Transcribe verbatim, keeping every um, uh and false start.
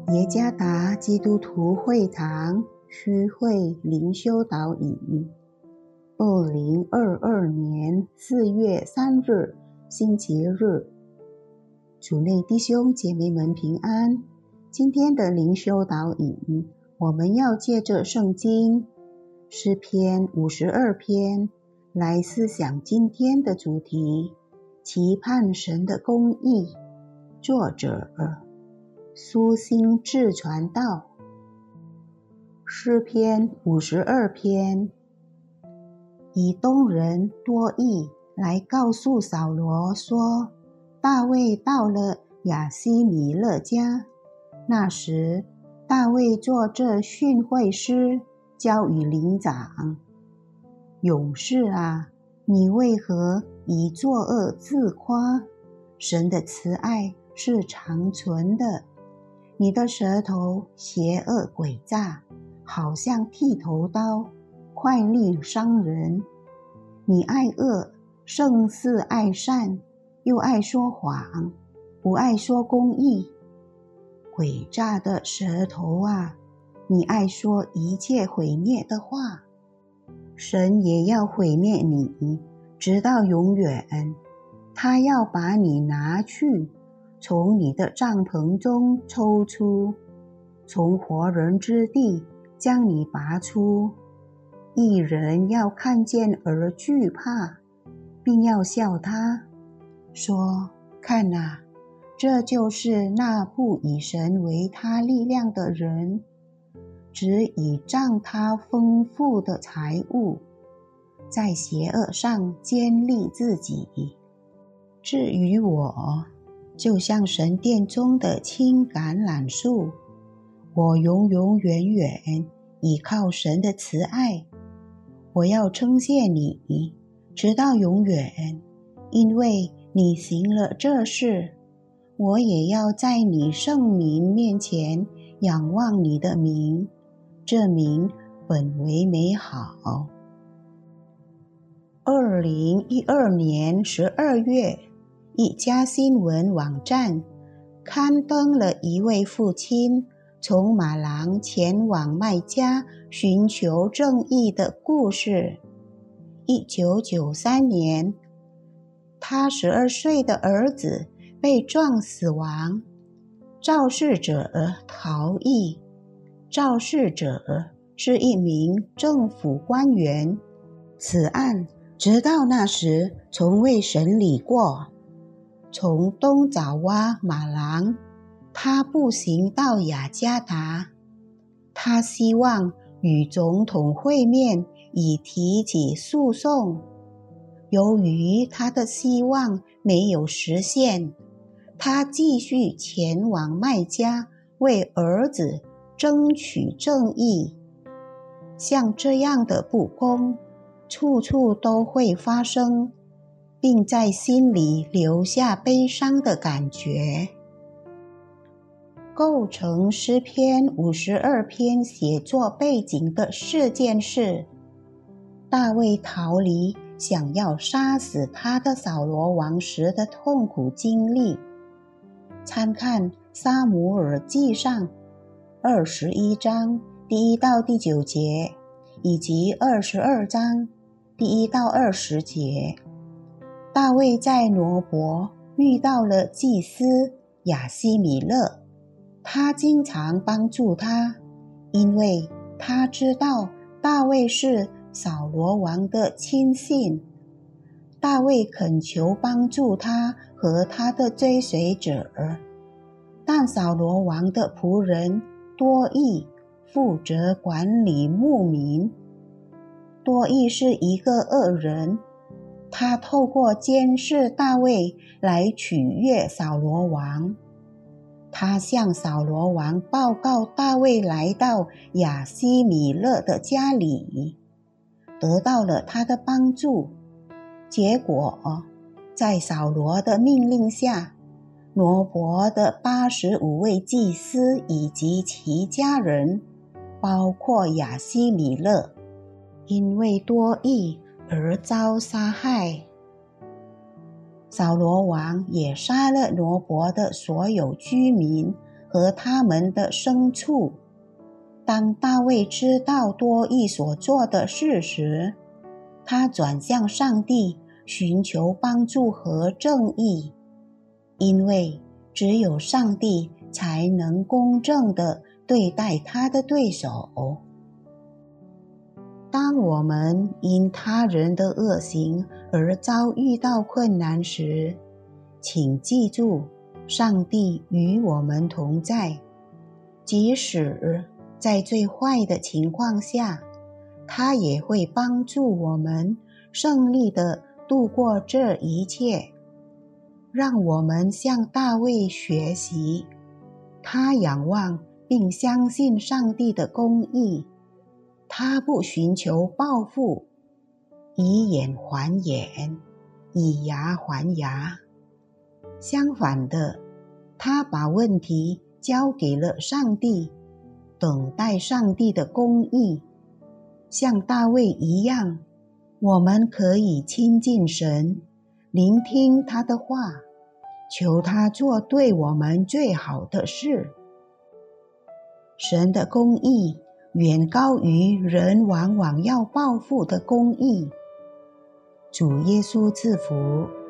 耶加达基督徒会堂区会灵修导引，二零二二年四月三日星期日，主内弟兄姐妹们平安。今天的灵修导引，我们要借着圣经诗篇五十二篇来思想今天的主题，期盼神的公义。作者苏心志传道。诗篇五十二篇，以东人多益来告诉扫罗说，大卫到了亚希米勒家。那时大卫做这训诲诗，交与灵长。勇士啊，你为何以作恶自夸？神的慈爱是长存的。你的舌头邪恶诡诈，好像剃头刀，快利伤人。你爱恶胜似爱善，又爱说谎，不爱说公义。诡诈的舌头啊，你爱说一切毁灭的话，神也要毁灭你，直到永远。他要把你拿去，从你的帐篷中抽出，从活人之地将你拔出。义人要看见而惧怕，并要笑他，说：看啊，这就是那不以神为他力量的人，只倚仗他丰富的财物，在邪恶上坚立自己。至于我，就像神殿中的青橄榄树，我永永远远倚靠神的慈爱。我要称谢你，直到永远，因为你行了这事。我也要在你圣名面前仰望你的名，这名本为美好。二零一二年十二月，一家新闻网站刊登了一位父亲从马郎前往麦加寻求正义的故事。一九九三年，他十二岁的儿子被撞死亡，肇事者逃逸。肇事者是一名政府官员，此案直到那时从未审理过。从东爪哇马郎，他步行到雅加达，他希望与总统会面，以提起诉讼。由于他的希望没有实现，他继续前往麦加，为儿子争取正义。像这样的不公，处处都会发生，并在心里留下悲伤的感觉。构成诗篇五十二篇写作背景的事件是，大卫逃离想要杀死他的扫罗王时的痛苦经历。参看撒母耳记上二十一章第一到第九节，以及二十二章第一到二十节。大卫在挪伯遇到了祭司亚希米勒，他经常帮助他，因为他知道大卫是扫罗王的亲信。大卫恳求帮助他和他的追随者，但扫罗王的仆人多益负责管理牧民。多益是一个恶人，他透过监视大卫来取悦扫罗王。他向扫罗王报告大卫来到亚希米勒的家里，得到了他的帮助。结果，在扫罗的命令下，挪伯的八十五位祭司以及其家人，包括亚希米勒，因为多益而遭杀害。扫罗王也杀了挪伯的所有居民和他们的牲畜。当大卫知道多益所做的事时，他转向上帝，寻求帮助和正义，因为只有上帝才能公正地对待他的对手。当我们因他人的恶行而遭遇到困难时，请记住，上帝与我们同在，即使在最坏的情况下，他也会帮助我们胜利地度过这一切。让我们向大卫学习，他仰望并相信上帝的公义，他不寻求报复，以眼还眼，以牙还牙。相反的，他把问题交给了上帝，等待上帝的公义。像大卫一样，我们可以亲近神，聆听他的话，求他做对我们最好的事。神的公义远高于人往往要报复的公义。主耶稣赐福。